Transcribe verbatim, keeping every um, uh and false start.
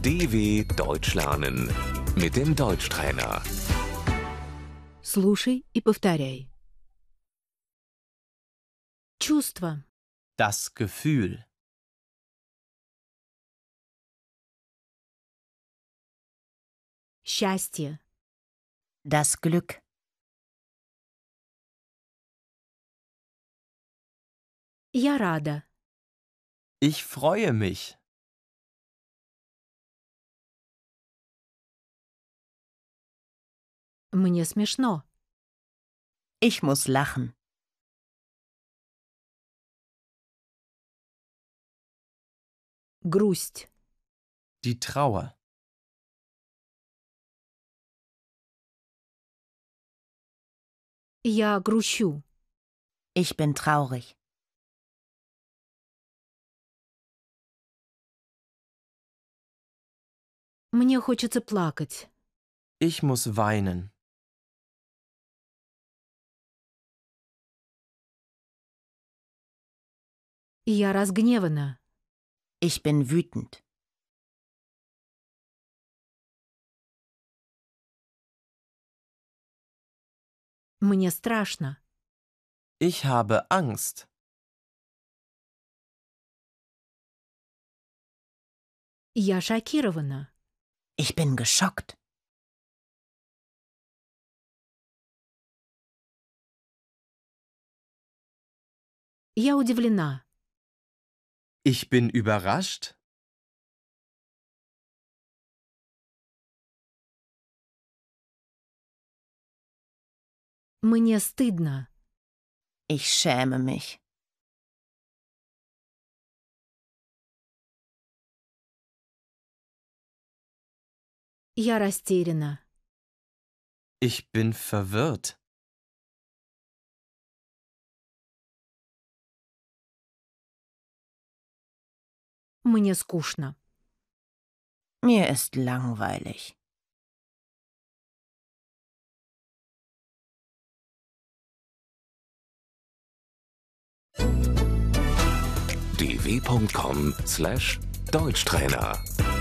D W Deutsch lernen mit dem Deutschtrainer. Слушай и повторяй. Чувство, Das Gefühl. счастье, Das Glück. я рада, Ich freue mich. мне смешно, Ich muss lachen. грусть, Die Trauer. я грущу, Ich bin traurig. мне хочется плакать, Ich muss weinen. я разгневана, Ich bin wütend. мне страшно, Ich habe Angst. я шокирована, Ich bin geschockt. я удивлена, Ich bin überrascht. мне стыдно, Ich schäme mich. я растеряна, Ich bin verwirrt. мне скучно. Mir ist langweilig. d w punkt com slash Deutschtrainer